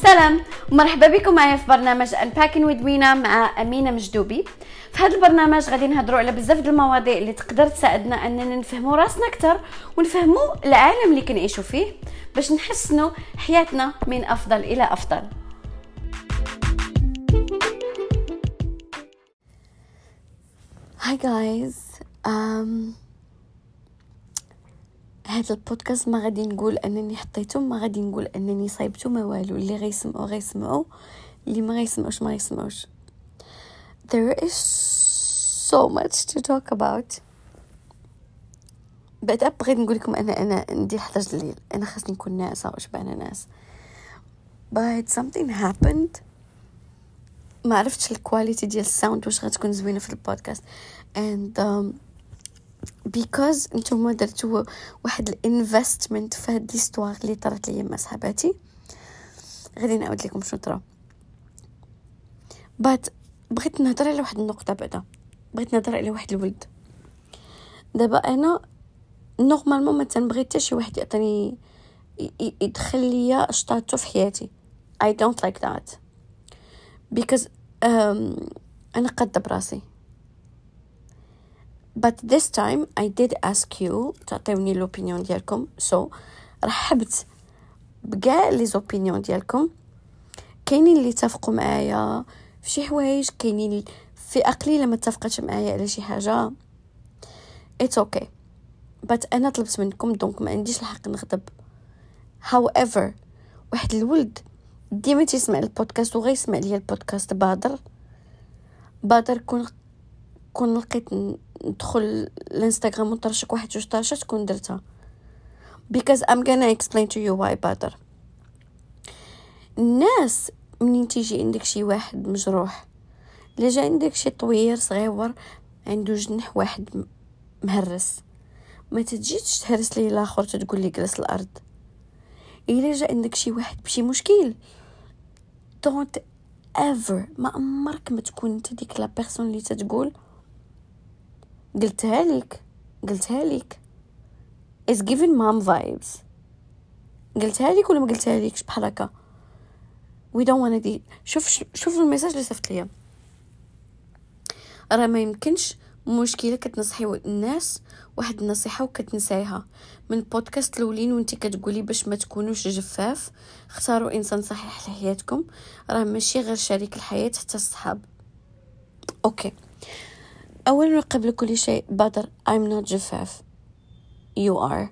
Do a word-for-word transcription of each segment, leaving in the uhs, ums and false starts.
سلام ومرحبا بكم معايا في برنامج Unpacking with Mina مع أمينة مجدوبي. في هذا البرنامج غادي نهضروا على بزاف د المواضيع اللي تقدر تساعدنا اننا نفهموا راسنا اكثر ونفهموا العالم اللي كنعيشوا فيه باش نحسنوا حياتنا من افضل الى افضل. هاي جايز، um, هذا البودكاست ما غادي نقول انني حطيته، ما غادي نقول انني صايبته، ما والو. اللي غيسمعوا غيسمعوا، اللي ما غيسمعوش ما غيسمعوش. There is so much to talk about. بعد بغيت نقول لكم انا انا ندير حداش الليل، انا خاصني نكون ناعسه وشبعانه ناس. But something happened. ما عرفتش الكواليتي ديال الساوند واش غتكون زوينه في البودكاست. And um, because نتوما درتوا واحد الانفستمنت في هاد ليستوار اللي طرات لي مع صحاباتي، غادي نعاود لكم شنو طرا. But بغيت نهضر على واحد النقطه. بعدا بغيت نهضر على واحد الولد. دابا انا نورمالمون ما تنبغي حتى شي واحد يعطيني يدخل ليا شطاتو في حياتي. I don't like that because um, انا قاده براسي. But this time I did ask you تعطيوني l'opinion ديالكم. So رحبت بكاع لي زوبينيون ديالكم. كاينين اللي اتفقوا معايا في شي حوايج، كاينين في قليله ما اتفقتش معايا على شي حاجه. It's okay. But انا طلبت منكم دونك ما عنديش الحق نغضب. However واحد الولد ديما تيسمع البودكاست وغيسمع ليا البودكاست بادر بادر كون كون لقيت ندخل الانستغرام ونطرشك واحد جوج طرشات كون درتها. Because I'm gonna explain to you why بادر. الناس منين تيجي عندك شي واحد مجروح، الا جا عندك شي طوير صغيور عنده جنح واحد مهرس، ما تجيش تهرس ليه الاخر تقول لي جلس الارض. الا جا عندك شي واحد بشي مشكل، don't ever ما عمرك ما تكون انت ديك لا بيرسون اللي تتقول قلتها لك قلتها لك is giving mom vibes. قلتها لك ولا ما قلتها لكش بحال هكا. we don't want to. شوف شوف الميساج اللي صيفط ليا. راه ما يمكنش مشكله كتنصحي الناس واحد النصيحه وكتنسايها. من البودكاست الاولين وانت كتقولي باش ما تكونوش جفاف اختاروا انسان صحيح لحياتكم. راه ماشي غير شريك الحياه، حتى الصحاب. اوكي، اولا قبل كل شيء بدر، I'm not جفاف. You are.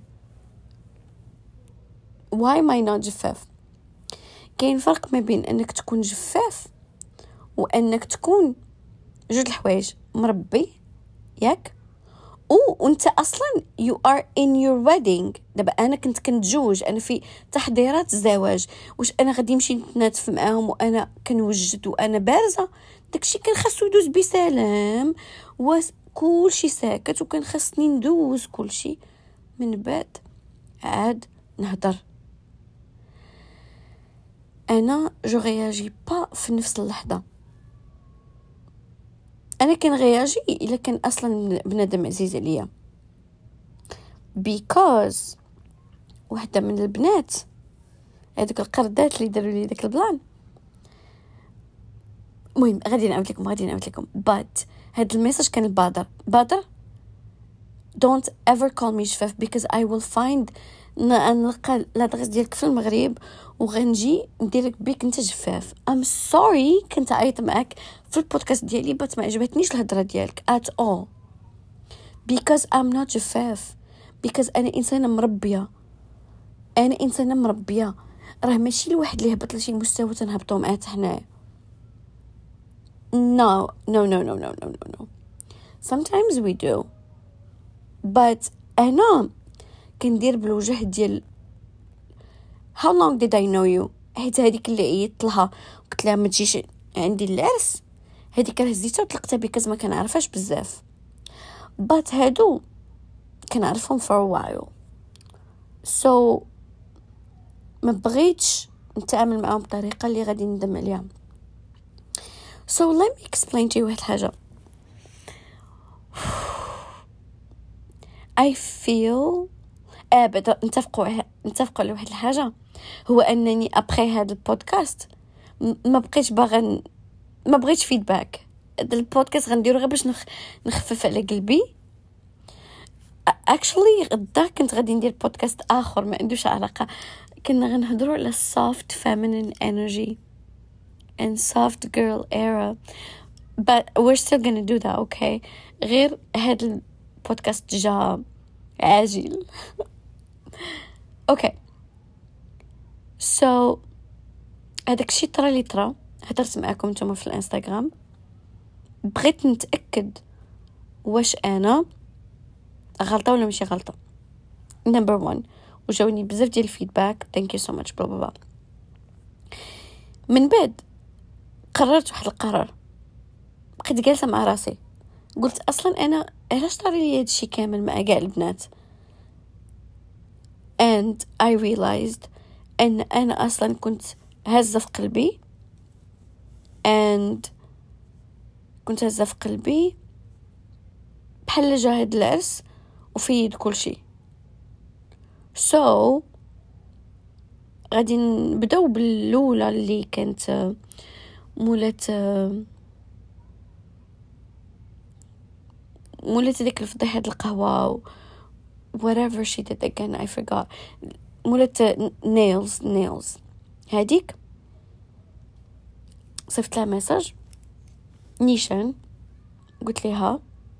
Why am I not جفاف؟ كاين فرق ما بين انك تكون جفاف وانك تكون جوج الحوايج مربي ياك او وانت اصلا you are in your wedding. دابا انا كنت كنتزوج، انا في تحضيرات الزواج، واش انا غادي نمشي نتناتف معاهم وانا كنوجد وانا بارزه؟ داكشي كان خاصو يدوز بسلام وكلشي ساكت، وكان خاصني ندوز كلشي من بعد عاد نهضر. انا جو رياجي با في نفس اللحظه. انا كان غياجي الا كان اصلا بنادم عزيز عليا. because واحده من البنات هذوك القردات اللي داروا لي داك البلان، المهم غادي نعاود لكم غادي نعاود لكم but هذا الميساج كان البادر بادر don't ever call me جفاف because I will find نلقى لادغيس ديالك في المغرب وغنجي نديرك بيك انت جفاف. I'm sorry كنت عيط معك في البودكاست ديالي بس ما عجبتنيش الهضره ديالك at all because I'm not جفاف because انا انسانه مربيه. انا انسانه مربيه. راه ماشي الواحد اللي هبط لشي مستوى تنهبطوا معاه حنايا. no no no no no no no no sometimes we do but انا كندير بالوجه ديال how long did I know you. حيت هذيك اللي عيطت لها قلت لها ما تجيش عندي العرس، هذيك راه هزيتها وطلقتها بكاز ما كنعرفهاش بزاف. but هادو كنعرفهم for a while so ما بغيتش نتعامل معاهم بطريقه اللي غادي ندم عليها. so let me explain to you واحد الحاجه. I feel ابدا نتفقوا نتفقوا على واحد الحاجه، هو انني ابخي هذا البودكاست ما بقيتش باغا، ما بغيتش فيدباك. هذا البودكاست غنديرو غير باش نخ... نخفف على قلبي. اكشلي غدا كنت غادي ندير بودكاست اخر ما عندوش علاقه، كنا غنهضروا على soft feminine energy and soft girl era, but we're still gonna do that, okay? غير هذا البودكاست جا عاجل. اوكي سو هذاك الشيء طرا لي طرا، هضرت معكم نتوما في الانستغرام، بغيت نتاكد واش انا غلطه ولا ماشي غلطه. نمبر واحد، وجاوني بزاف ديال الفيدباك، ثانك يو سو ماتش بلا بلا. من بعد قررت واحد القرار، بقيت جالسه مع راسي قلت اصلا انا علاش طاري لي هادشي كامل مع كاع البنات، and I realized ان انا اصلا كنت هزه في قلبي and كنت هزه في قلبي بحال جا هاد العرس وفيد كل شيء. so غادي نبداو بالاولى اللي كانت مولات مولات ديك الفضيحه د القهوه whatever she did again I forgot. مولات nails nails هاديك صيفط لها ميساج نيشان، قلت لها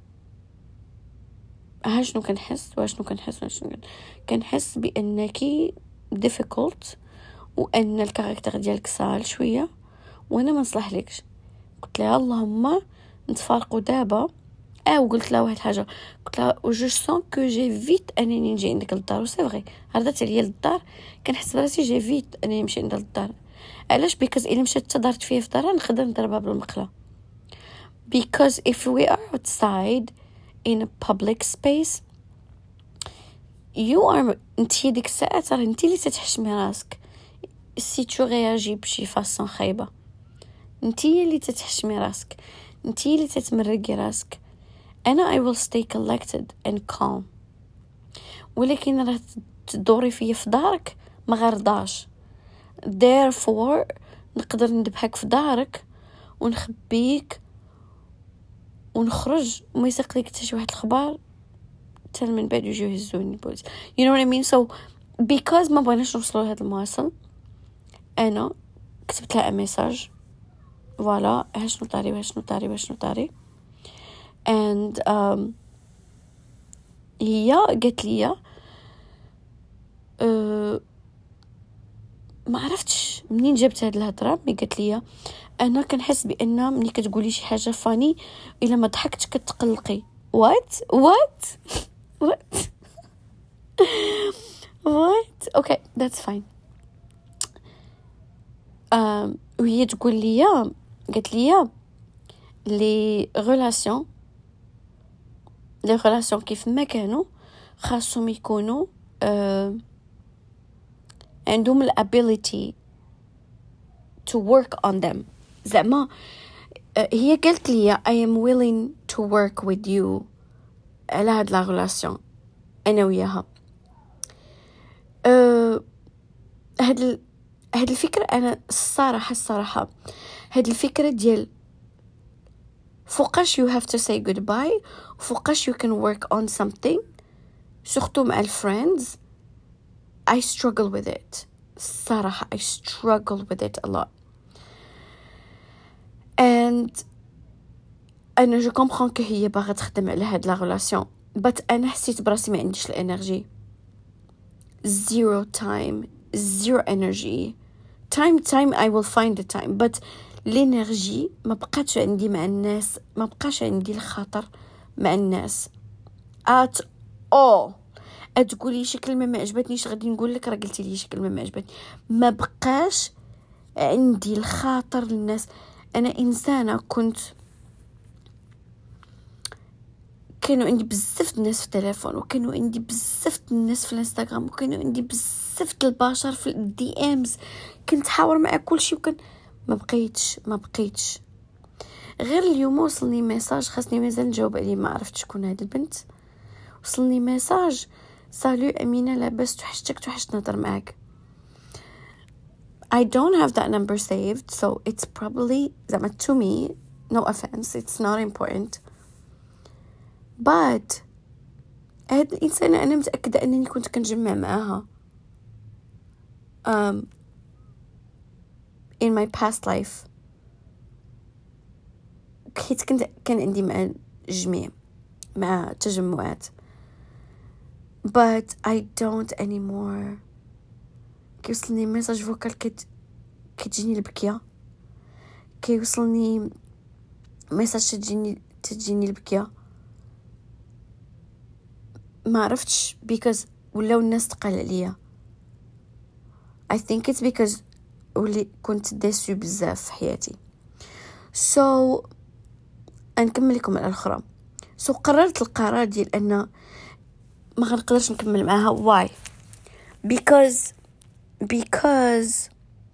ها شنو كنحس واشنو كنحس واشنو كنحس بانك difficult وان الكاركتر ديالك سال شويه وانا ما نصلح لكش. قلت لها اللهم نتفارقوا دابا. اه وقلت لها واحد الحاجه، قلت لها جو سون كو جي فيت انني نجي عندك للدار، وسي فري عرضت عليا للدار كنحس براسي جي فيت انني نمشي عندها للدار. علاش؟ بيكوز الا مشات تدارت فيا في دارها نقدر نضربها بالمقله. because if we are outside in a public space you are انتي ديك الساعه راه انتي اللي تتحشمي راسك سي تو رياجي بشي فاصون خايبه، انتي اللي تتحشمي راسك، انتي اللي تتمرقي راسك. انا I will stay collected and calm، ولكن راه تدوري فيا في دارك ما غرضاش. therefore نقدر ندبحك في دارك ونخبيك ونخرج وما يسق لك حتى شي واحد الخبار حتى من بعد يجيو يهزوني بوليس. you know what I mean? so because ما بغيناش نوصلوا لهذا المواصل انا كتبت لها ميساج فوالا ها شنو طاري ها شنو طاري ها شنو طاري and um, هي قالت لي أه ما عرفتش منين جبت هاد الهضره، مي قالت لي انا كنحس بان ملي كتقولي شي حاجه فاني الا ما ضحكتش كتقلقي. وات وات وات وات اوكي ذاتس فاين. ام وهي تقول لي قالت لي لي ريلاسيون لي ريلاسيون كيف ما كانوا خاصهم يكونوا أه عندهم الابيليتي to work on them. زعما هي قالت لي I am willing to work with you على هاد لا ريلاسيون انا وياها. أه هاد ال... هاد الفكره انا الصراحه الصراحه هاد الفكره ديال فوقاش you have to say goodbye وفوقاش you can work on something سورتو مع الفريندز I struggle with it. الصراحة I struggle with it a lot. and أنا je comprends que هي باغا تخدم على هاد لا relation but أنا حسيت براسي ما عنديش الانرجي. zero time zero energy. time time I will find the time but الانرجي ما بقاتش عندي مع الناس، ما بقاش عندي الخاطر مع الناس at all. تقولي شي كلمه ما عجبتنيش غادي نقول لك راه قلتي لي شي كلمه ما عجبتني. ما بقاش عندي الخاطر للناس. انا انسانه كنت كانوا عندي بزاف الناس في التليفون وكانوا عندي بزاف الناس في الانستغرام وكانوا عندي بزاف البشر في الدي امز، كنت حاور مع كل شيء وكان ما بقيتش ما بقيتش غير اليوم وصلني ميساج خاصني مازال نجاوب عليه، ما عرفتش شكون هاد البنت. وصلني ميساج سالو أمينة لاباس توحشتك توحشت نهضر معاك. I don't have that number saved, so it's probably زعما to me, no offense, it's not important. But هاد الإنسانة أنا متأكدة أنني كنت كنجمع معاها um, in my past life. حيت كنت كان عندي مع الجميع مع تجمعات. But I don't anymore. كيوصلني ميساج فوكال كت كتجيني البكيه، كيوصلني ميساج تجيني تجيني البكيه. ما عرفتش because ولاو الناس تقال عليا. I think it's because ولي كنت ديسو بزاف في حياتي. so نكمل لكم على الاخرى. so قررت القرار ديال ان ما غنقدرش نكمل معاها. why because because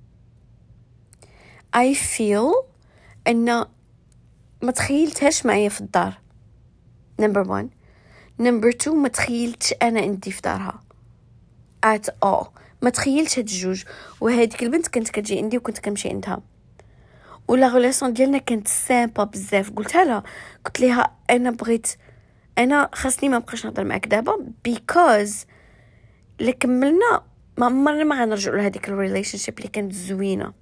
I feel ان ما تخيلتهاش معايا في الدار. number one. number two ما تخيلتش انا عندي في دارها at all. ما تخيلتش هاد الجوج. وهذيك البنت كانت كتجي عندي وكنت كنمشي عندها، ولا غولاسيون ديالنا كانت سامبا بزاف. قلتها لها قلت لها انا بغيت انا خاصني ما بقاش نهضر معاك دابا because اللي كملنا ما عمرنا ما غنرجعوا لهذيك الريليشن شيب اللي كانت زوينه.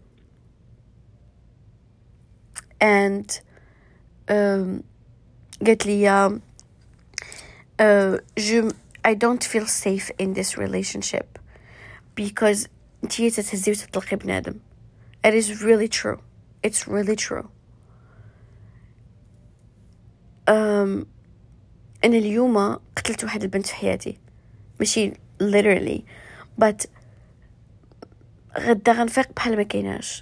and um, قالت لي uh, je I don't feel safe in this relationship because انتي تتهزي وتطلقي بنادم. it is really true. it's really true. um, أنا اليوم قتلت واحد البنت في حياتي، ماشي literally but غدا غنفيق بحال ما كايناش.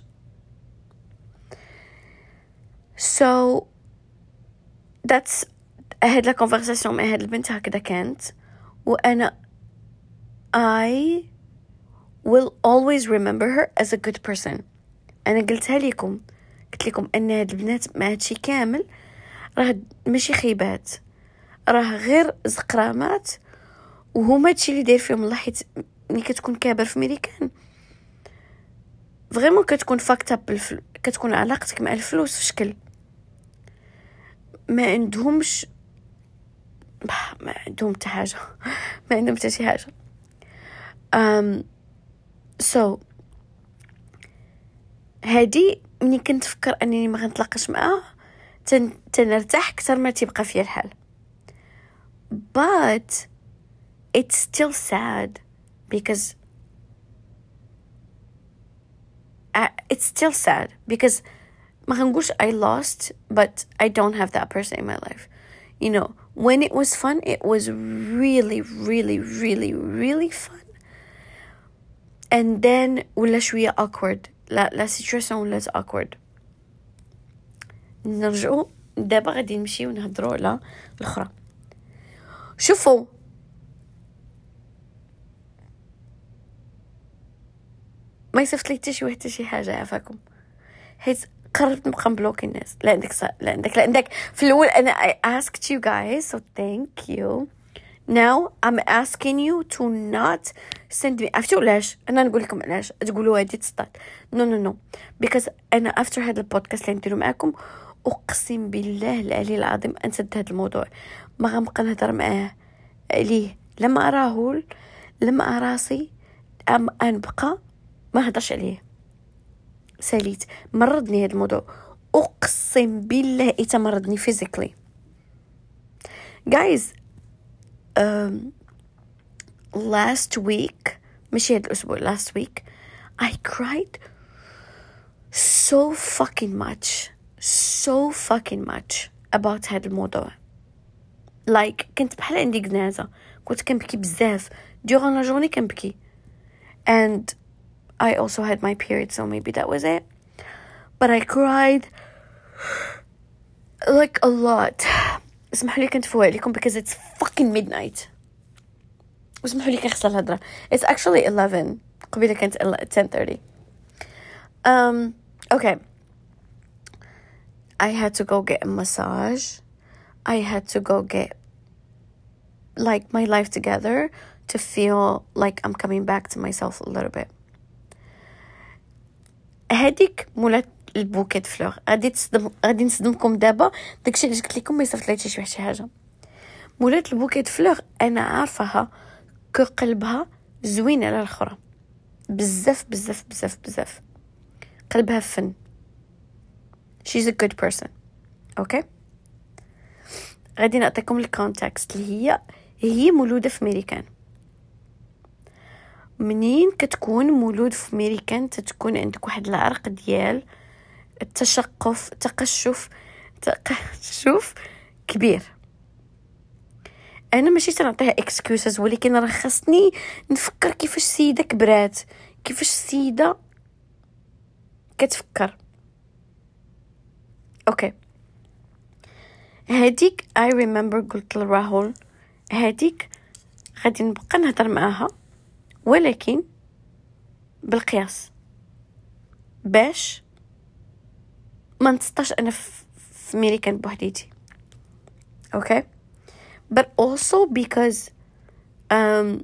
so that's هاد لا conversation مع هاد البنت هكذا كانت. وأنا I will always remember her as a good person. أنا قلتها لكم قلت لكم أن هاد البنات مع هادشي كامل راه ماشي خيبات، راه غير زقرامات، وهما هادشي اللي داير فيهم الله. حيت ملي كتكون كابر في ميريكان فريمون كتكون فاكت اب بالفل... كتكون علاقتك مع الفلوس في شكل ما عندهمش ما عندهم حتى حاجه ما عندهم حتى شي حاجه. um so هادي ملي كنت نفكر انني ما غنتلاقاش معاه تن... تنرتاح اكثر ما تيبقى فيا الحال. but it's still sad because uh, it's still sad because ما غنقولش I lost but I don't have that person in my life. you know when it was fun it was really really really really fun and then ولا شويه awkward. لا لا situation ولا awkward. نرجعوا دابا غادي نمشي ونهضروا على الاخرى. شوفوا ما يصيفط لي حتى شي واحد حتى شي حاجه عافاكم، حيت قررت نبقى مبلوكي الناس. لا عندك صح. لا عندك لا عندك في الاول انا I asked you guys so thank you. now I'm asking you to not send me. عرفتوا علاش انا نقول لكم علاش تقولوا هادي تصدق؟ no no no because انا after هذا البودكاست اللي نديرو معاكم اقسم بالله العلي العظيم انسد هذا الموضوع. ما غنبقى نهضر معاه عليه لما اراه لما اراسي ام انبقى ما هضرش عليه. ساليت مرضني هذا الموضوع اقسم بالله يتمرضني physically. guys um, last week ماشي هذا الاسبوع last week I cried so fucking much so fucking much about هذا الموضوع. like كنت بحال عندي جنازة، كنت كنبكي بزاف durant la journée كنبكي. and I also had my period so maybe that was it but I cried like a lot. اسمحوا لي كنت فوق عليكم because it's fucking midnight. اسمحوا لي كنخسر الهضره. it's actually eleven قبيله كانت ten thirty. um okay I had to go get a massage. I had to go get like my life together to feel like I'm coming back to myself a little bit. هذيك مولات البوكيت فلور غادي تصدم غادي نصدمكم دابا داكشي اللي قلت لكم ما صيفطليتش شي شي حاجه. مولات البوكيت فلور انا عارفاها كو قلبها زوين على الاخرى بزاف بزاف بزاف بزاف. قلبها فن. she's a good person. اوكي غادي نعطيكم الكونتكست اللي هي هي مولوده في امريكان. منين كتكون مولود في امريكان تتكون عندك واحد العرق ديال التشقف تقشف تقشف كبير. انا ماشي تنعطيها اكسكيوزز ولكن راه خاصني نفكر كيفاش السيده كبرات كيفاش السيده كتفكر. اوكي هاديك I remember قلت لراهول هاديك غادي نبقى نهضر معاها ولكن بالقياس باش ما نتسطاش انا في امريكان بوحديتي. اوكي but also because um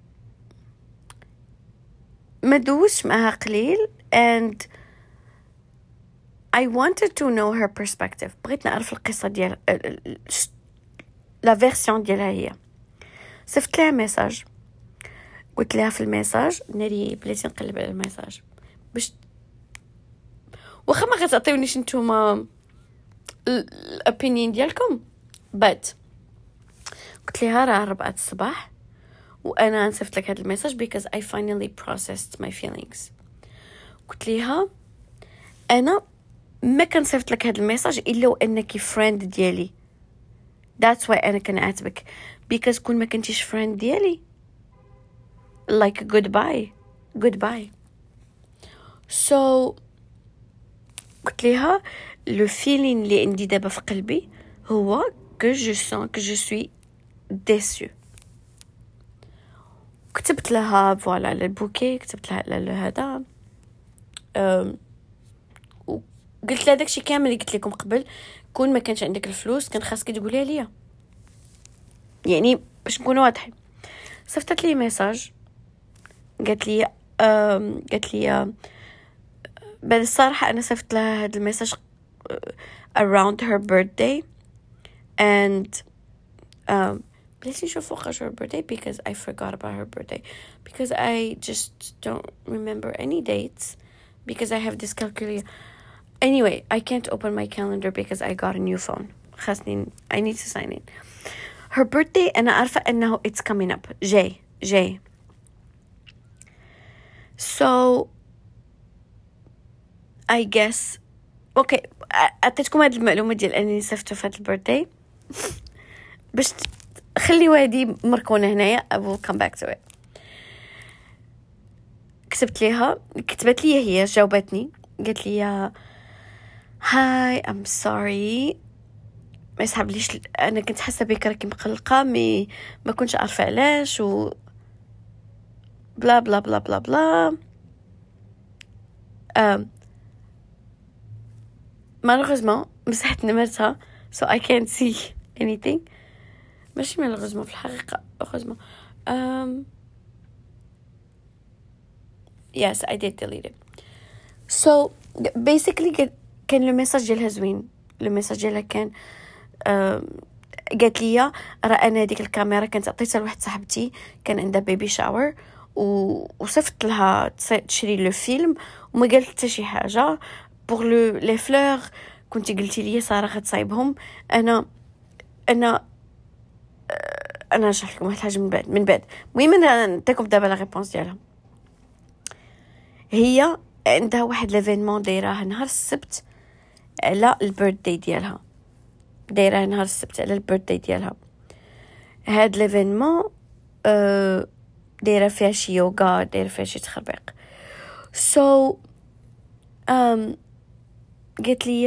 ما دوش معها قليل and I wanted to know her perspective. بغيت نعرف القصة ديال لا فيرسيون ديالها هي. صيفط لها ميساج قلت لها في الميساج ناري بلاتي نقلب على الميساج باش واخا ما غتعطيونيش نتوما الopinion ديالكم but قلت لها راه ربعة الصباح وانا نصيفط لك هذا الميساج because I finally processed my feelings. قلت لها انا ما كنصيفط لك هذا الميساج الا وانك فريند ديالي. that's why انا كنعاتبك because كون ما كنتيش فريند ديالي like goodbye goodbye. so قلت لها le feeling اللي عندي دابا في قلبي هو que je sens que je suis déçue. كتبت لها فوالا على البوكي كتبت لها على هذا أم قلت لها داكشي كامل اللي قلت لكم قبل. كون ما كانش عندك الفلوس كان خاصك تقوليها ليا يعني باش نكونوا واضحين. صيفطت لي ميساج قالت لي أم قالت لي بعد الصراحه انا صيفط لها هذا الميساج around her birthday and um بلاتي نشوف وقاش her birthday because I forgot about her birthday because I just don't remember any dates because I have this calculator. Anyway, I can't open my calendar because I got a new phone. خاصني I need to sign in. Her birthday أنا عارفة أنه it's coming up. جاي جاي. So I guess okay أعطيتكم هذه المعلومة ديال أنني صيفطت في هذا البيرثداي باش خليوا هذه مركونة هنايا. I will come back to it. كتبت ليها كتبت لي هي جاوبتني قالت لي هاي I'm sorry ما يسحبليش انا كنت حاسه بك راكي مقلقه مي ما كنتش عارفه علاش و بلا بلا بلا بلا بلا ام malheureusement مسحت نمرتها so I can't see anything. ماشي malheureusement في الحقيقه heureusement um yes I did delete it. so basically كان لو ميساج ديالها زوين. لو ميساج ديالها كان قالت لي راه انا ديك الكاميرا كانت عطيتها لواحد صاحبتي كان عندها بيبي شاور وصفت لها تشري لو فيلم وما قالت حتى شي حاجه. بور لو لي فلور كنتي قلتي لي ساره غتصايبهم. انا انا انا نشرح لكم واحد الحاجه من بعد من بعد المهم انا نعطيكم دابا لا ريبونس ديالها. هي عندها واحد ليفينمون دايراه نهار السبت على البيرثداي ديالها. دايره نهار السبت على البيرثداي ديالها. هاد ليفينمون أه دايره فيها شي يوغا دايره فيها شي تخربيق. سو ام قالت لي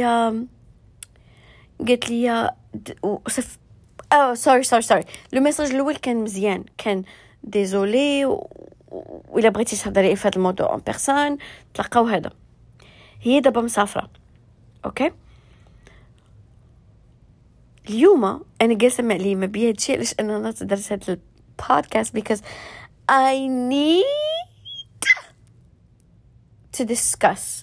قالت لي وصف اه سوري سوري سوري لو ميساج الاول كان مزيان كان ديزولي وإلا بغيتي تهضري في هذا الموضوع ان بيرسون تلقاو هذا. هي دابا مسافره اوكي. اليوم انا جالسه مع لي ما بيا هادشي علاش انا درت هذا البودكاست because I need to discuss.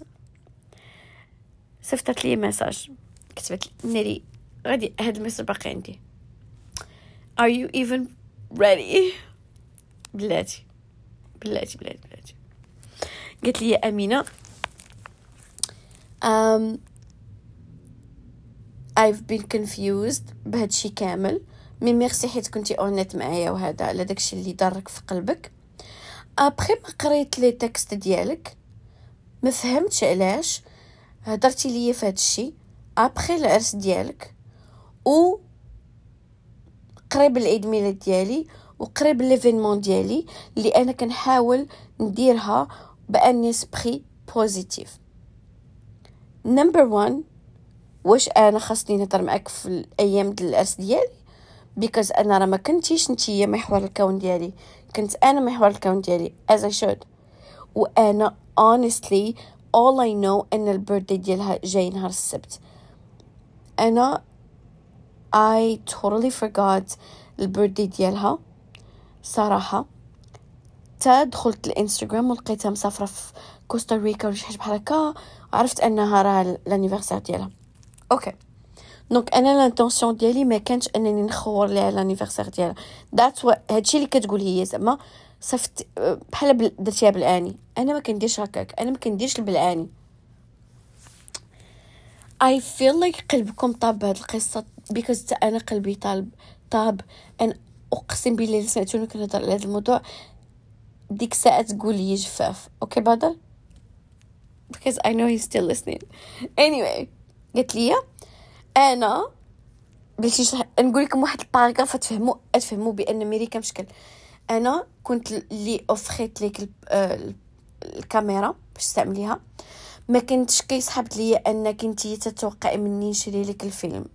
صيفطت لي مساج، كتبت لي ناري غادي هاد المساج باقي عندي. Are you even ready؟ بلاتي بلاتي بلاتي بلاتي قالت لي يا أمينة um, I've been confused بهادشي كامل، مي ميرسي حيت كنتي اونيت معايا وهذا على داكشي اللي ضرك في قلبك. ابخي ما قريت لي تكست ديالك ما فهمتش علاش هضرتي ليا في هادشي ابخي العرس ديالك و قريب العيد ميلاد ديالي وقريب ليفينمون ديالي اللي انا كنحاول نديرها بان اسبري بوزيتيف. نمبر واحد، واش انا خاصني نهضر معاك في الايام ديال العرس ديالي؟ بيكوز انا راه ما كنتيش نتيا محور الكون ديالي، كنت انا محور الكون ديالي as I should. وانا honestly all I know ان البيرثدي ديالها جاي نهار السبت. انا I totally forgot البيرثدي ديالها صراحه. تا دخلت الانستغرام ولقيتها مسافره في كوستاريكا ولا شي حاجه بحال هكا، عرفت انها راه الانيفرسير ديالها. اوكي دونك انا لانتونسيون ديالي ما كانش انني نخور ليها الانيفرسير ديالها. ذات هادشي اللي كتقول هي زعما صفت بحال درتيها بالاني. انا ما كنديرش هكاك، انا ما كنديرش البلعاني. I feel like قلبكم طاب بهاد القصه because انا قلبي طالب طاب. انا اقسم بالله اللي سمعتوني كنهضر على هذا الموضوع ديك الساعه تقول لي جفاف. اوكي بدر because I know he's still listening. anyway قالت لي انا بلاتي نقول لكم واحد الباراغراف تفهموا تفهموا بان ميريكا مشكل. انا كنت اللي اوفريت ليك الكاميرا باش تعمليها، ما كنتش كيسحبت لي انك انتي تتوقعي مني نشري لك الفيلم.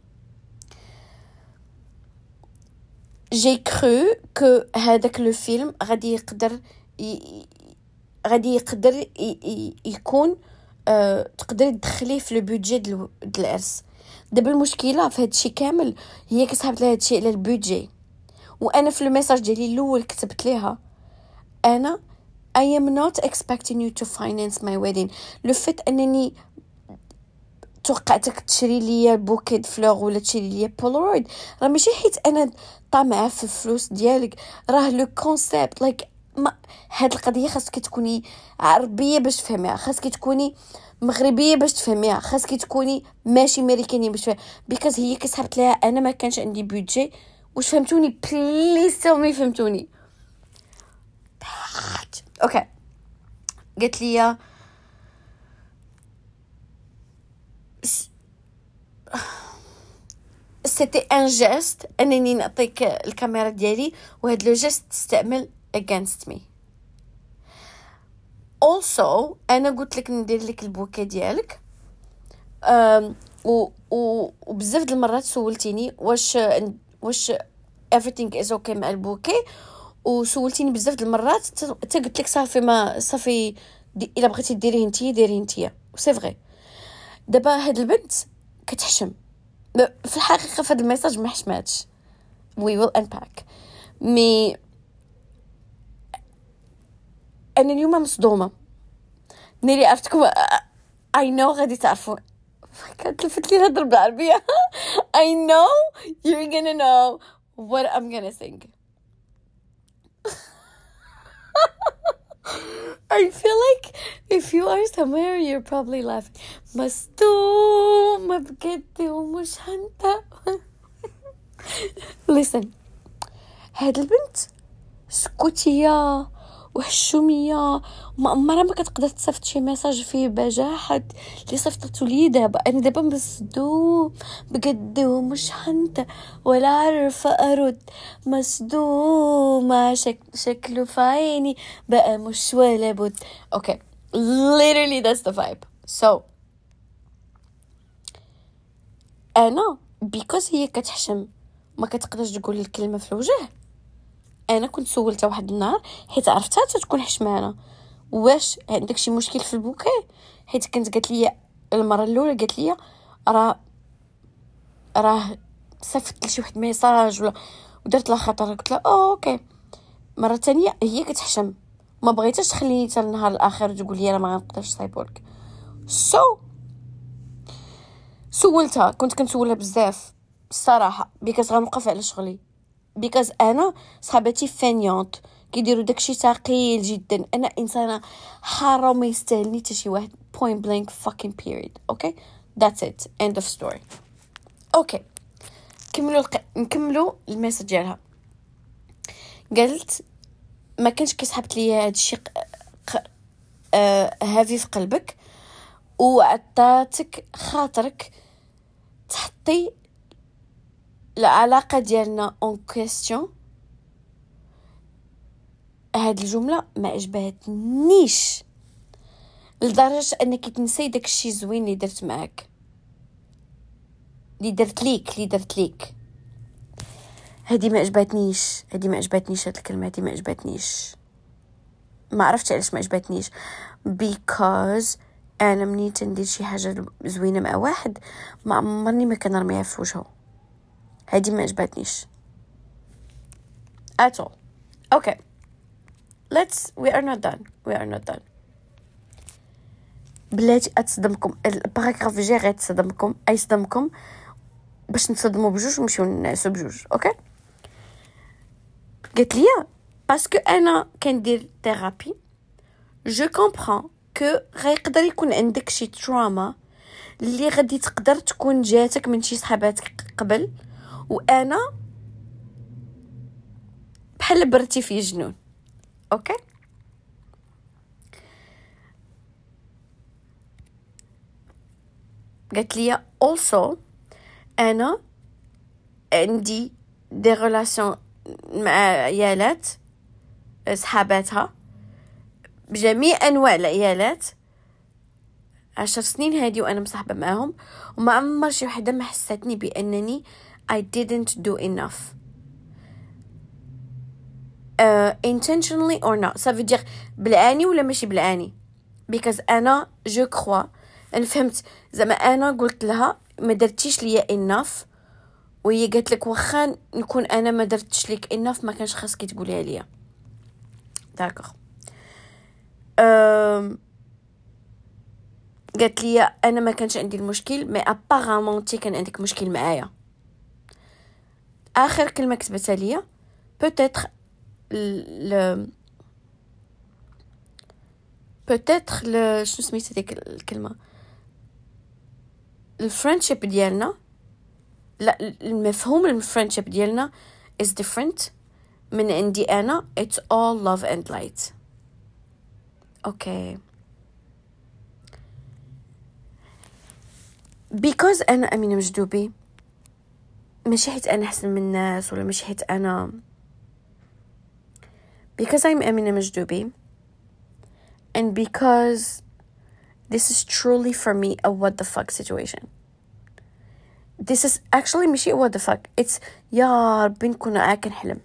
جي كرو كو هذاك لو فيلم غادي يقدر ي... غادي يقدر ي... ي... يكون أه... تقدري تدخليه في لو بودجي ديال العرس. دابا المشكله في هادشي كامل هي كسحبت لها هادشي على البودجي، وانا في الميساج ديالي الاول كتبت ليها انا I am not expecting you to finance my wedding. لو فيت انني توقعتك تشري لي بوكيت فلور ولا تشري لي بولرويد راه ماشي حيت انا طامعه في الفلوس ديالك، راه لو كونسيبت لايك ما هاد القضيه خاصك تكوني عربيه باش تفهميها، خاصك تكوني مغربيه باش تفهميها، خاصك تكوني ماشي امريكانيه باش تفهميها. بيكوز هي كسحبت لها انا ما كانش عندي بودجي. واش فهمتوني؟ بليز تيل مي فهمتوني. اوكي قالت لي سيتي ان جيست انني نعطيك الكاميرا ديالي وهاد لو جيست تستعمل against me. also انا قلت لك ندير لك البوكيه ديالك أم و و وبزاف د المرات سولتيني واش واش everything is okay مع البوكيه، وسولتيني بزاف د المرات حتى قلت لك صافي ما صافي دي الا بغيتي ديريه نتيا ديريه نتيا. سي فري دابا هاد البنت كتحشم في الحقيقه في هاد الميساج ما حشماتش. we will unpack مي انا اليوم مصدومه ناري عرفتكم. I know غادي تعرفوا كتلفت لي الهضره بالعربيه. I know you're gonna know what I'm gonna sing. I feel like if you are somewhere you're probably laughing. مصدومة بجد ومش هنتا. listen هاد البنت سكوتية وحشومية ما عمرها ما كتقدر تصيفط شي ميساج فيه بجاحة اللي صيفطته لي دابا. انا دابا مصدوم بجد ومش هنتا ولا عارفه ارد. مصدومه شك... شكله في عيني بقى مش ولا بد. اوكي literally that's the vibe. so انا because هي كتحشم ما كتقدرش تقول الكلمه في الوجه. انا كنت سولتها واحد النهار حيت عرفتها تكون حشمانه واش عندك شي مشكل في البوكيه، حيت كانت قالت لي المره الاولى قالت لي راه راه صيفط لي شي واحد ميساج ولا ودرت لها خطر. قلت لها اوه اوكي مره تانية هي كتحشم، ما بغيتش تخليني حتى النهار الاخر تقول لي انا ما غنقدرش سايبورغ. سو so, سولتها، كنت كنسولها بزاف الصراحه، بيكاز غنوقف على شغلي، بيكاز انا صحاباتي فانيونت كيديروا داكشي ثقيل جدا، انا انسانه حاره ما يستاهلني حتى شي واحد. point blank fucking period. okay that's it, end of story. اوكي كملوا الق... نكملوا الميساج ديالها. قالت ما كانش كيسحبت لي هذا الشيء ق... آه... هافي في قلبك، وعطاتك خاطرك تحطي العلاقه ديالنا اون كويستيون. هاد الجمله ما عجبتنيش لدرجه انك تنسي داك الشيء زوين اللي درت معاك، اللي درت ليك اللي درت ليك هادي ما عجبتنيش هادي ما عجبتنيش هاد الكلمه هادي ما عجبتنيش ما عرفتش علاش ما عجبتنيش. because انا مني تندير شي حاجه زوينه مع واحد ما عمرني ما كنرميها في وجهه. هادي ما عجبتنيش at all. okay let's we are not done we are not done. بلاتي اتصدمكم الباراغراف جاي غير تصدمكم اي صدمكم باش نتصدموا بجوج ونمشيو نعسوا بجوج. اوكي قالت لي باسكو انا كندير ثيرابي جو كومبران كو غيقدر يكون عندك شي تروما اللي غادي تقدر تكون جاتك من شي صحاباتك قبل، وانا بحال برتي في جنون. اوكي قالت لي also انا عندي دي ريلاسيون مع عيالات صحاباتها بجميع انواع العيالات، عشر سنين هادي وانا مصاحبه معاهم، وما عمر شي وحده ما حساتني بانني I didn't do enough uh, intentionally or not. ça veut dire بالعاني ولا ماشي بالعاني، because انا جو كخوا انا فهمت زعما انا قلت لها ما درتيش ليا enough، وهي قالت لك واخا نكون انا ما درتش لك enough ما كانش خاصك تقوليها ليا. داكوغ أم... قالت لي انا ما كانش عندي المشكل مي ابارامون تي كان عندك مشكل معايا. اخر كلمه كتبتها ليا peut-être ل peut-être ل شنو سميت هذيك الكلمه الفريندشيب ديالنا، لا المفهوم الفريندشيب ديالنا is different من عندي انا it's all love and light. اوكي because انا امينه مجدوبي، ماشي حيت انا احسن من الناس ولا ماشي حيت انا because I'm امينه مجدوبي and because this is truly for me a what the fuck situation. this is actually ماشي what the fuck it's يا ربي نكون عاكن حلم.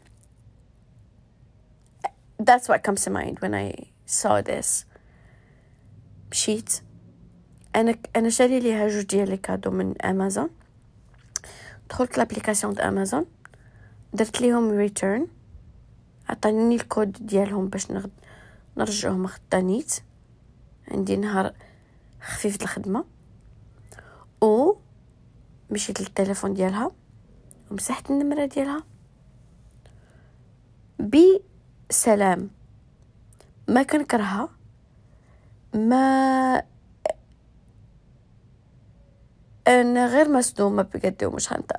that's what comes to mind when I saw this. مشيت انا انا شاري ليها جوج ديال لي كادو من امازون، دخلت لابليكاسيون د امازون درت ليهم ريتيرن، عطاني الكود ديالهم باش نغد نرجعهم غدا نيت، عندي نهار خفيف د الخدمه، و مشيت للتليفون ديالها ومسحت النمره ديالها بسلام. ما كنكرهها، ما انا غير مصدومه بجد ومش هنطق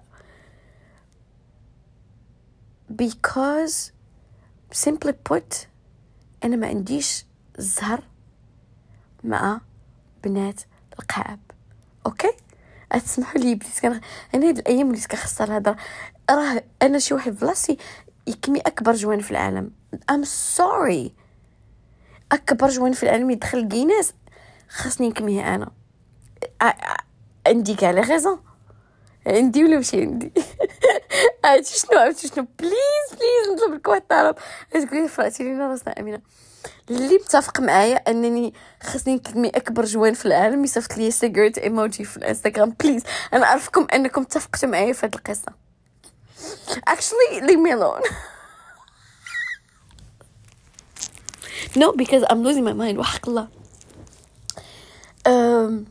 because simply put انا ما عنديش زهر مع بنات القاعب. اوكي اسمحوا لي بليز، كان انا هاد الايام اللي كنخسر الهضره، راه انا شي واحد بلاصتي يكمي اكبر جوان في العالم I'm sorry اكبر جوان في العالم يدخل كيناس خاصني نكميه انا. عندي كاع لي غيزون، عندي ولا ماشي عندي عرفتي شنو عرفتي شنو بليز بليز نطلب لك واحد الطلب، تقولي فراتي لينا راسنا امينه اللي متفق معايا انني خاصني نكمي اكبر جوان في العالم يصيفط لي سيجرت ايموجي في الانستغرام بليز. انا عارفكم انكم اتفقتوا معايا في هذه القصه actually leave me alone no, because I'm losing my mind. وحق الله. Um,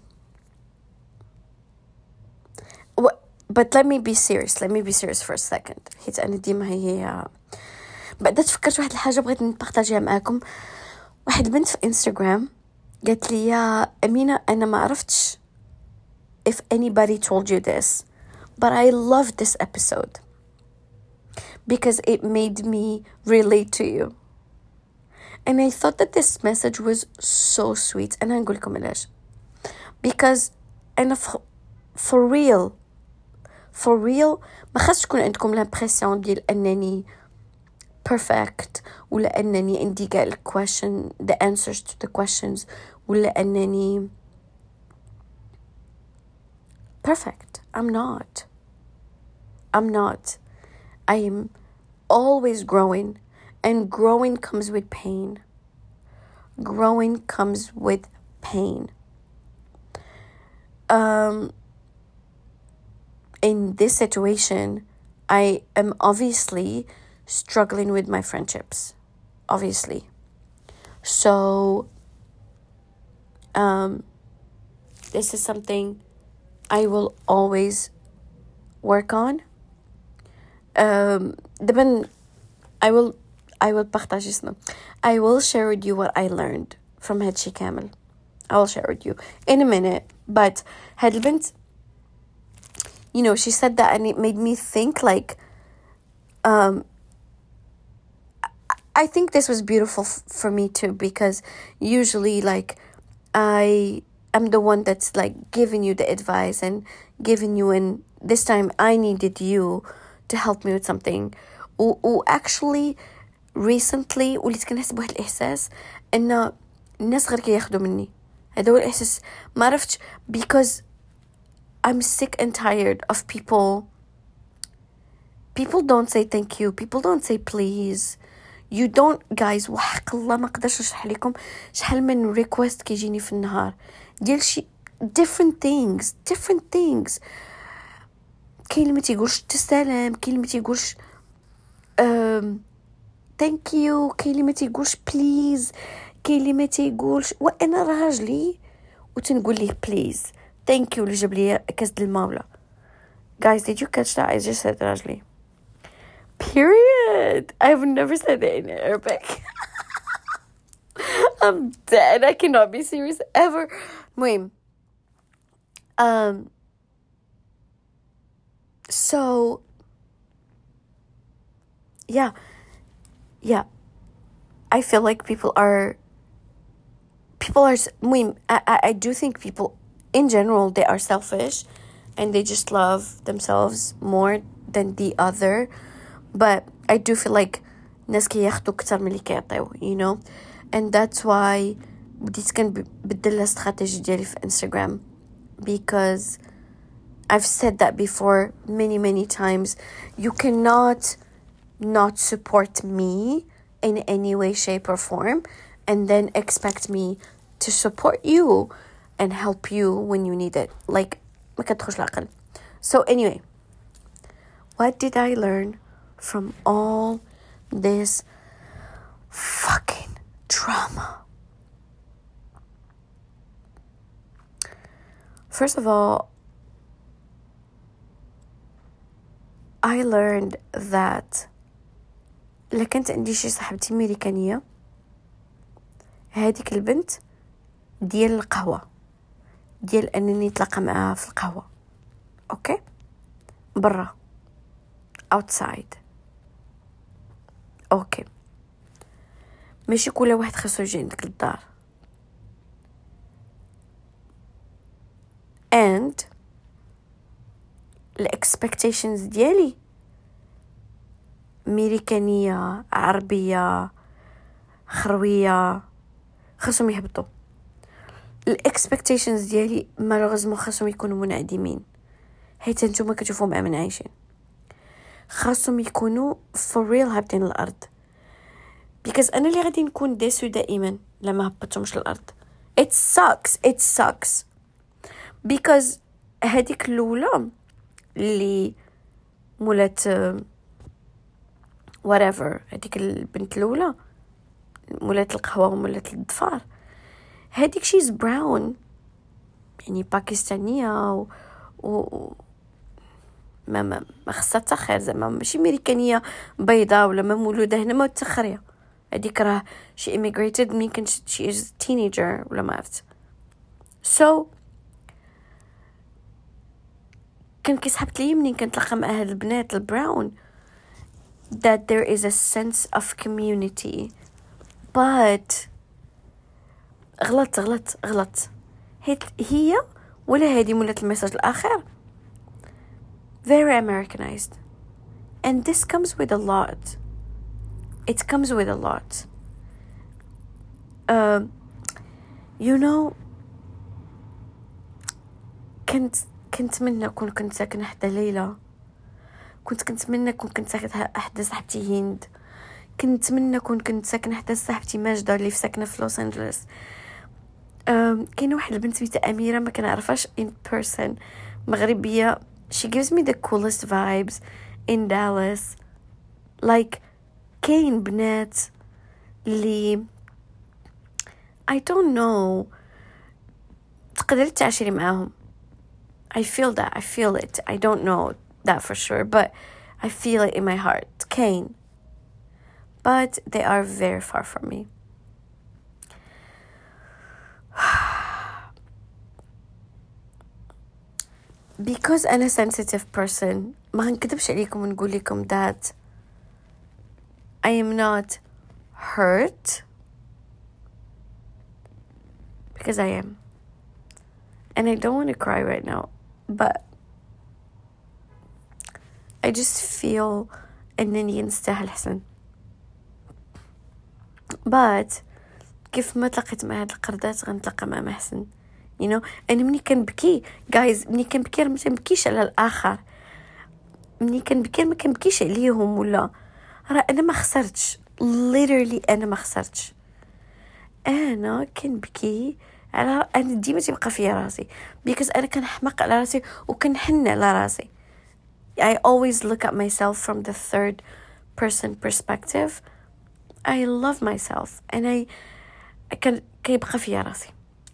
wh- but let me be serious. Let me be serious for a second. حيت أنا ديما هي بعد تفكرت واحد الحاجة بغيت نبارطاجيها معاكم. واحد بنت في انستغرام قالت لي يا أمينة أنا ما عرفتش if anybody told you this, but I loved this episode because it made me relate to you. And I thought that this message was so sweet. أنا هنقول لكم علاش. Because أنا for, for real for real ما خاص تكون عندكم l'impression ديال أنني perfect ولا أنني عندي كاع ال question the answers to the questions ولا أنني perfect. I'm not. I'm not. I am always growing, and growing comes with pain. Growing comes with pain. Um, in this situation, I am obviously struggling with my friendships. Obviously. So, um, this is something I will always work on. Um, دبن I will I will partage اسمه. I will share with you what I learned from هادشي كامل. I will share with you in a minute. But هاد البنت, you know, she said that and it made me think like, um, I think this was beautiful f- for me too, because usually like I am the one that's like giving you the advice and giving you, and this time I needed you to help me with something. و, و actually recently وليت كنحس بواحد الإحساس إن الناس غير كياخدوا مني. هذا هو الإحساس ما عرفتش, because I'm sick and tired of people. People don't say thank you. People don't say please. You don't, guys. وحق الله ما قدرش نشرح لكم شحال من request كيجيني في النهار ديال شي different things different things. كاين اللي ما تيقولش تسلم, كاين اللي ما تيقولش um, thank you, كاين اللي ما تيقولش please, كاين اللي ما تيقولش. وانا راجلي وتنقول ليه please thank you اللي جاب لي كاس د الماء ولا. Guys, did you catch that? I just said راجلي. Period. I've never said it in Arabic. I'm dead. I cannot be serious ever. المهم, um so yeah yeah I feel like people are people are المهم, I, I, I do think people in general, they are selfish and they just love themselves more than the other. But I do feel like ناس كياخدوا كتر من اللي كيعطيو, you know. And that's why بديت كنبدل الاستراتيجي ديالي في Instagram, because I've said that before many many times. You cannot not support me in any way, shape or form and then expect me to support you and help you when you need it. Like ما كتدخلش العقل. So anyway, what did I learn from all this fucking drama? First of all, I learned that إلا كانت عندي شي صاحبتي أمريكانية, هذيك البنت ديال القهوة, ديال أنني نتلاقى معها في القهوة, أوكي, برا, outside, أوكي, ماشي كل واحد خاصو يجي عندك للدار. and ال expectations ديالي أمريكانية, عربية, خروية, خاصهم يهبطوا. ال expectations ديالي malheureusement خاصهم يكونوا منعدمين, حيت انتوما كتشوفوا مع من عايشين. خاصهم يكونوا for real هابطين الأرض, because أنا اللي غادي نكون ديسو دائما لما هبطتهمش الأرض. it sucks it sucks because هذيك الأولى اللي مولات whatever, هذيك البنت الأولى مولات القهوة ومولات الضفار. هاديك شيز براون يعني باكستانية و, و... ما ما ما خصها تاخر زعما ماشي امريكانيه بيضاء ولا ما مولوده هنا ما تخريه. هذيك راه شي immigrated ملي كانت شي is teenager ولا ما عرفت. so كان كيسحبت لي منين كنتلاقى مع هاد البنات البراون that there is a sense of community. but غلط غلط غلط هي ولا هادي مولات الميساج الاخر very Americanized, and this comes with a lot. It comes with a lot. Uh, you know, كنت كنت منى كون كنت ساكنة حدا ليلى. كنت كنت منى كون كنت ساكنة حدا صاحبتي هند. كنت منى كون كنت ساكنة حدا صاحبتي ماجدة اللي في ساكنة في لوس أنجلوس. um, كاينه واحد البنت سميتها أميرة ما كنعرفهاش in person, مغربية. she gives me the coolest vibes in Dallas. like كاين بنات اللي I don't know تقدري تعاشري معاهم. I feel that. I feel it. I don't know that for sure, but I feel it in my heart. كاين. But they are very far from me. Because I'm a sensitive person, ما هنكذبش عليكم ونقول لكم that I am not hurt, because I am. And I don't want to cry right now, but I just feel أنني نستاهل حسن. but كيف ما تلقيت مع هاد القردات غنتلقى مع محسن. you know أنا مني كنبكي guys مني كنبكي ما كنبكيش على الآخر. مني كنبكي ما كنبكيش عليهم ولا راه أنا ما خسرتش. literally أنا ما خسرتش. أنا كنبكي على أنا ديما تبقى فيا راسي because أنا كنحمق على راسي وكنحن على راسي. I always look at myself from the third person perspective. I love myself and I كان كيبقى فيا راسي.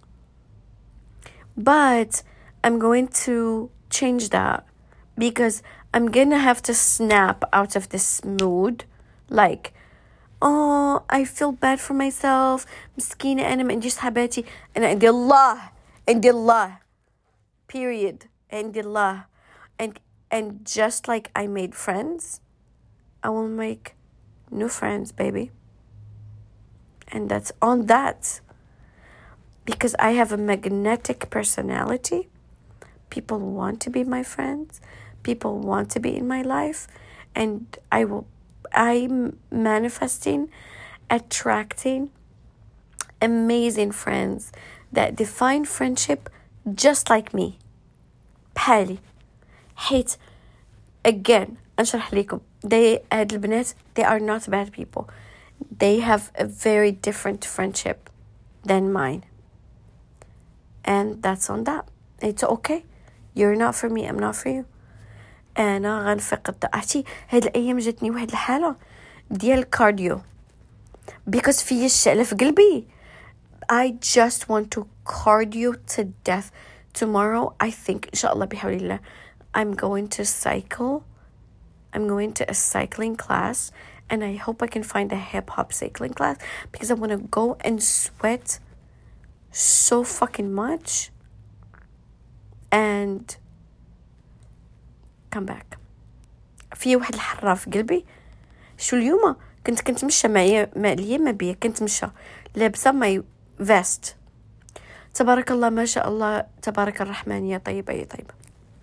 but I'm going to change that because I'm gonna have to snap out of this mood like oh I feel bad for myself مسكينة أنا ما عنديش صحباتي. أنا عندي الله عندي الله period عندي الله. and and just like I made friends I will make new friends baby, and that's on that because I have a magnetic personality. People want to be my friends, people want to be in my life, and I will I'm manifesting attracting amazing friends that define friendship just like me. بحالي حيت again أنشرح لكم they هاد البنات they are not bad people. They have a very different friendship than mine, and that's on that. It's okay. You're not for me, I'm not for you. أنا غنفقد عرفتي هاد الأيام جاتني واحد الحالة ديال الكارديو because في الشعلة في قلبي. I just want to cardio to death. Tomorrow I think إن شاء الله بحول الله I'm going to cycle. I'm going to a cycling class and I hope I can find a hip-hop cycling class because I want to go and sweat so fucking much and come back. في واحد الحرة في قلبي. شو اليوم كنت كنت مشى معي مع ليا ما بيا كنت مشى لابسة ماي vest تبارك الله ما شاء الله تبارك الرحمن يا طيبة يا طيبة.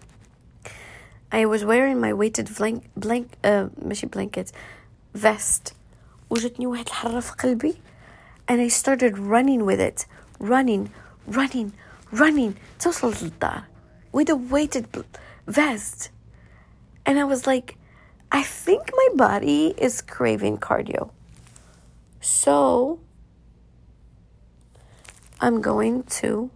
I was wearing my weighted blank blank uh, ماشي blanket vest وجتني واحد الحرة في قلبي and I started running with it running running running توصلت للدار with a weighted vest and I was like I think my body is craving cardio, so I'm going to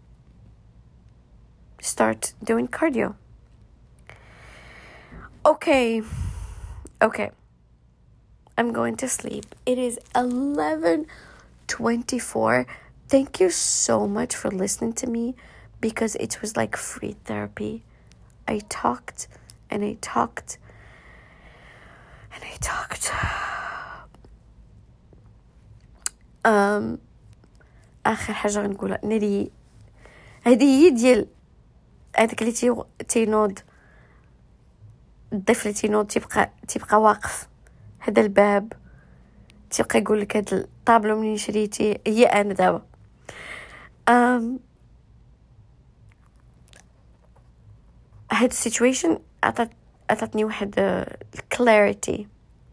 start doing cardio. Okay, okay. I'm going to sleep. It is eleven twenty-four. Thank you so much for listening to me, because it was like free therapy. I talked and I talked and I talked. um اخر حاجه غنقولها ناري هذه هي ديال هذاك اللي تي تينوض الضيف اللي تينوض تيبقى تيبقى واقف هذا الباب تيبقى يقول لك هذا الطابلو منين شريتي. هي انا دابا um هاد السيتويشن عطات عطاتني واحد الكلاريتي،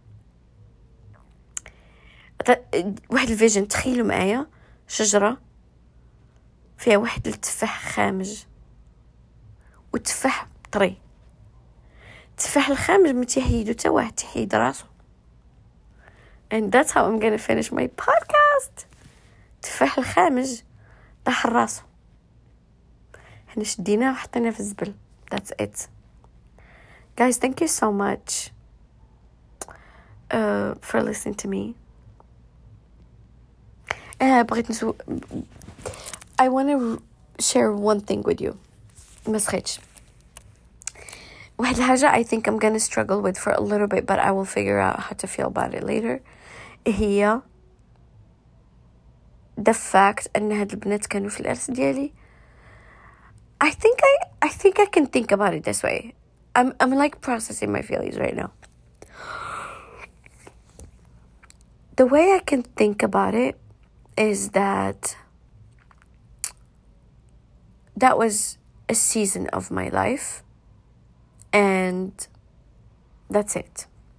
واحد الفيجن. تخيلوا معايا شجره فيها واحد التفاح خامج والتفاح طري. التفاح الخامج ما تيحيدو حتى واحد، تيحيد راسو. and that's how I'm gonna finish my podcast. التفاح الخامج طاح راسو، حنا شديناه وحطيناه في الزبل. that's it guys. thank you so much uh, for listening to me. uh, بغيت نسو I want to share one thing with you. ما سخيتش واحد الحاجة I think I'm gonna struggle with for a little bit, but I will figure out how to feel about it later. هي the fact أن هاد البنات كانوا في الأرس ديالي. I think I I think I can think about it this way. I'm I'm like processing my feelings right now. The way I can think about it is that that was a season of my life, and that's it.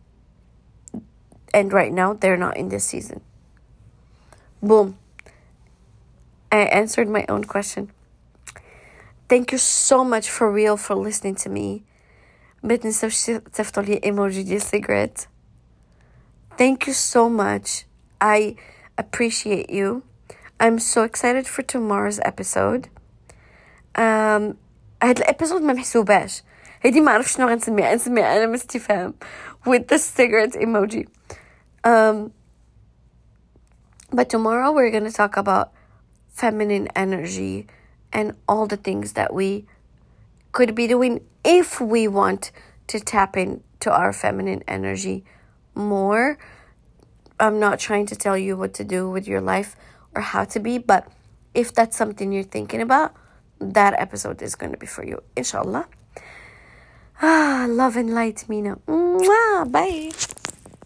And right now they're not in this season. Boom. I answered my own question. Thank you so much for real for listening to me. ما تنسوش تصيفطوا لي ايموجي ديال cigarette. Thank you so much. I appreciate you. I'm so excited for tomorrow's episode. Um, هاد الابيسود ما محسوباش. هادي ما عرفش شنو غنسميها. نسميها علامة استفهام with the cigarette emoji. Um, but tomorrow we're going to talk about feminine energy and all the things that we could be doing if we want to tap into our feminine energy more. I'm not trying to tell you what to do with your life or how to be, but if that's something you're thinking about, that episode is going to be for you, inshallah. Ah, love and light, Mina. Mwah, bye.